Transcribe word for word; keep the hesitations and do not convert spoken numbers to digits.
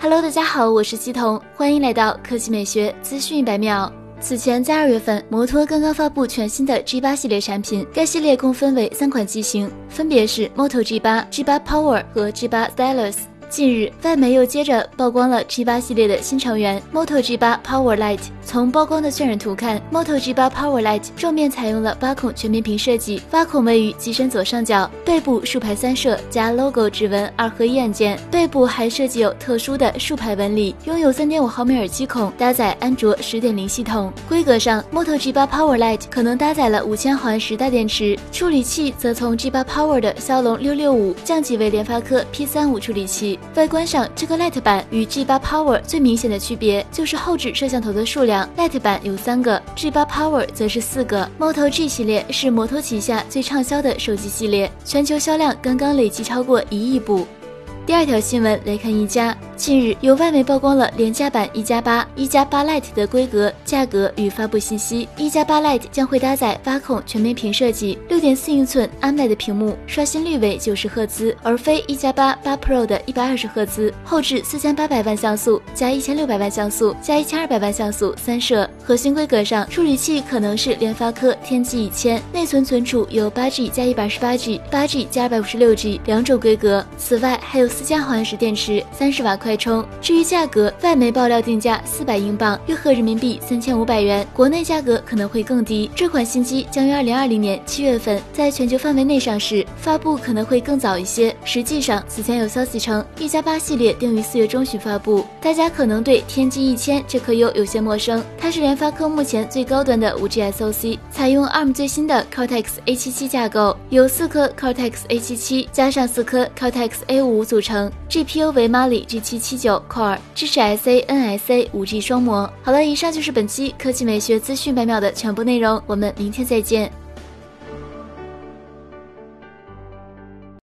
Hello， 大家好，我是西彤，欢迎来到科技美学资讯一百秒。此前在二月份，摩托刚刚发布全新的 G 八 系列产品，该系列共分为三款机型，分别是 Moto G 八、G 八 Power 和 G 八 Stylus。近日，外媒又接着曝光了 G 八 系列的新成员 Moto G 八 Power Lite。从曝光的渲染图看 ，Moto G 八 Power Lite 正面采用了八孔全面屏设计，八孔位于机身左上角，背部竖排三摄加 logo 指纹二合一按键，背部还设计有特殊的竖排纹理，拥有 三点五毫米耳机孔，搭载安卓 十点零 系统。规格上 ，Moto G 八 Power Lite 可能搭载了五千毫安时大电池，处理器则从 G 八 Power 的骁龙六六五降级为联发科 P 三十五处理器。外观上，这个 Lite 版与 G 八 Power 最明显的区别就是后置摄像头的数量 ，Lite 版有三个 ，G 八 Power 则是四个。Moto G 系列是摩托旗下最畅销的手机系列，全球销量刚刚累计超过一亿部。第二条新闻来看一加。近日，有外媒曝光了廉价版一加八、一加八 Lite 的规格、价格与发布信息。一加八 Lite 将会搭载八孔全面屏设计， 六点四英寸 A M O L E D 屏幕，刷新率为九十赫兹，而非一加八八 Pro 的一百二十赫兹。后置四千八百万像素加一千六百万像素加一千二百万像素三摄。核心规格上，处理器可能是联发科天玑一千，内存存储有 八 G 加一百二十八 G、八 G 加二百五十六 G 两种规格。此外，还有四千毫安时电池，三十瓦快充。至于价格，外媒爆料定价四百英镑，约合人民币三千五百元，国内价格可能会更低。这款新机将于二零二零年七月份在全球范围内上市，发布可能会更早一些。实际上，此前有消息称一加八系列定于四月中旬发布。大家可能对天玑一千这颗 U 有些陌生，它是联发科目前最高端的 五 G S O C， 采用 A R M 最新的 Cortex A 七七 架构，由四颗 Cortex A 七七 加上四颗 Cortex A 五五组成。G P U 为 Mali G 七七九 Core， 支持 S A N S A 五 G 双模。好了，以上就是本期科技美学资讯百秒的全部内容，我们明天再见。